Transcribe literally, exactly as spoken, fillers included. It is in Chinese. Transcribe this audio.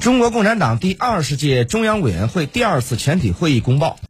中国共产党第二十届中央委员会第二次全体会议公报。